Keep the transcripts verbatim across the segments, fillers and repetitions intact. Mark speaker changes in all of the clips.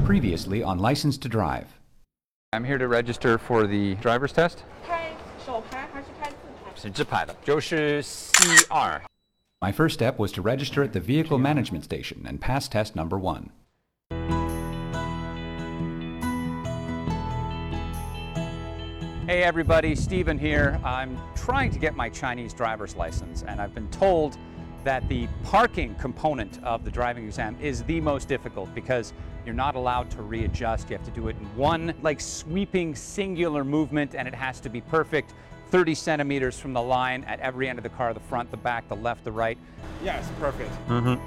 Speaker 1: Previously on License to Drive.
Speaker 2: I'm here to register for the driver's test.
Speaker 3: 开手牌还是开自牌？
Speaker 2: 是直排的，就是 C 二。
Speaker 1: My first step was to register at the Vehicle Management Station and pass test number one.
Speaker 2: Hey everybody, Steven here. I'm trying to get my Chinese driver's license, and I've been told that the parking component of the driving exam is the most difficult because you're not allowed to readjust. You have to do it in one like sweeping singular movement, and it has to be perfect, thirty centimeters from the line at every end of the car, the front, the back, the left, the right.
Speaker 4: Yes, perfect.
Speaker 2: Mm-hmm.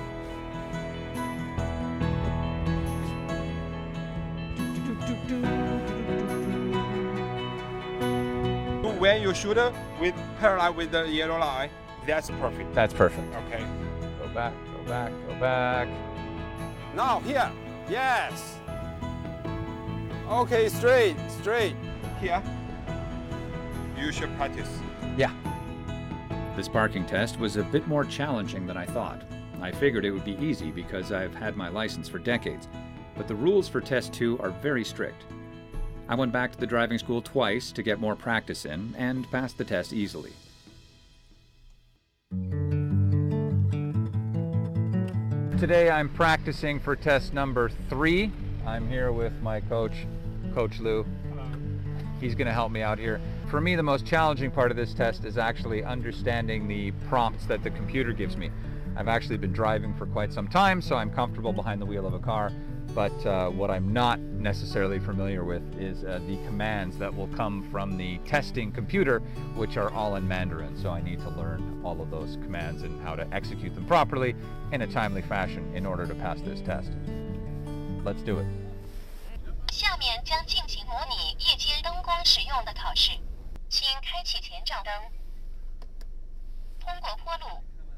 Speaker 4: When you shoot with parallel with the yellow line, that's perfect.
Speaker 2: That's perfect.
Speaker 4: Okay.
Speaker 2: Go back, go back, go back.
Speaker 4: Now here, yes. Okay, straight, straight. Here. You should practice.
Speaker 2: Yeah.
Speaker 5: This parking test was a bit more challenging than I thought. I figured it would be easy because I've had my license for decades, but the rules for test two are very strict. I went back to the driving school twice to get more practice in and passed the test easily.
Speaker 2: Today I'm practicing for test number three. I'm here with my coach, Coach Lou. He's going to help me out here. For me, the most challenging part of this test is actually understanding the prompts that the computer gives me. I've actually been driving for quite some time, so I'm comfortable behind the wheel of a car. But uh, what I'm not necessarily familiar with is uh, the commands that will come from the testing computer, which are all in Mandarin. So I need to learn all of those commands and how to execute them properly in a timely fashion in order to pass this test. Let's do it.
Speaker 6: 下面将进行模拟夜间灯光使用的考试，请开启前照灯，通过坡路，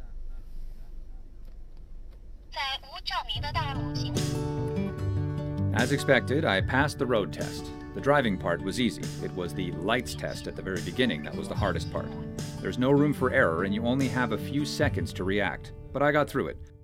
Speaker 6: 在无照明的道路行。
Speaker 5: As expected, I passed the road test. The driving part was easy. It was the lights test at the very beginning that was the hardest part. There's no room for error and you only have a few seconds to react, but I got through it.